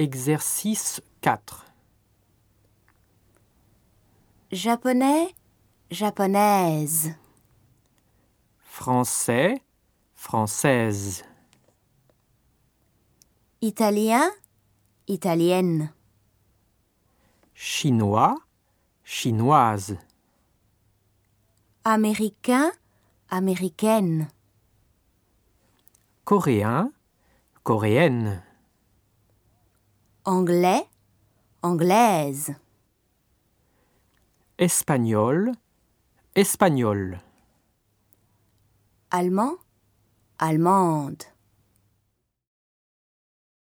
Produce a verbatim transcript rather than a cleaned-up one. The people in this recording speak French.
Exercice quatre. Japonais, japonaise. Français, française. Italien, italienne. Chinois, chinoise. Américain, américaine. Coréen, coréenne. Anglais, anglaise. Espagnol, espagnol. Allemand, allemande.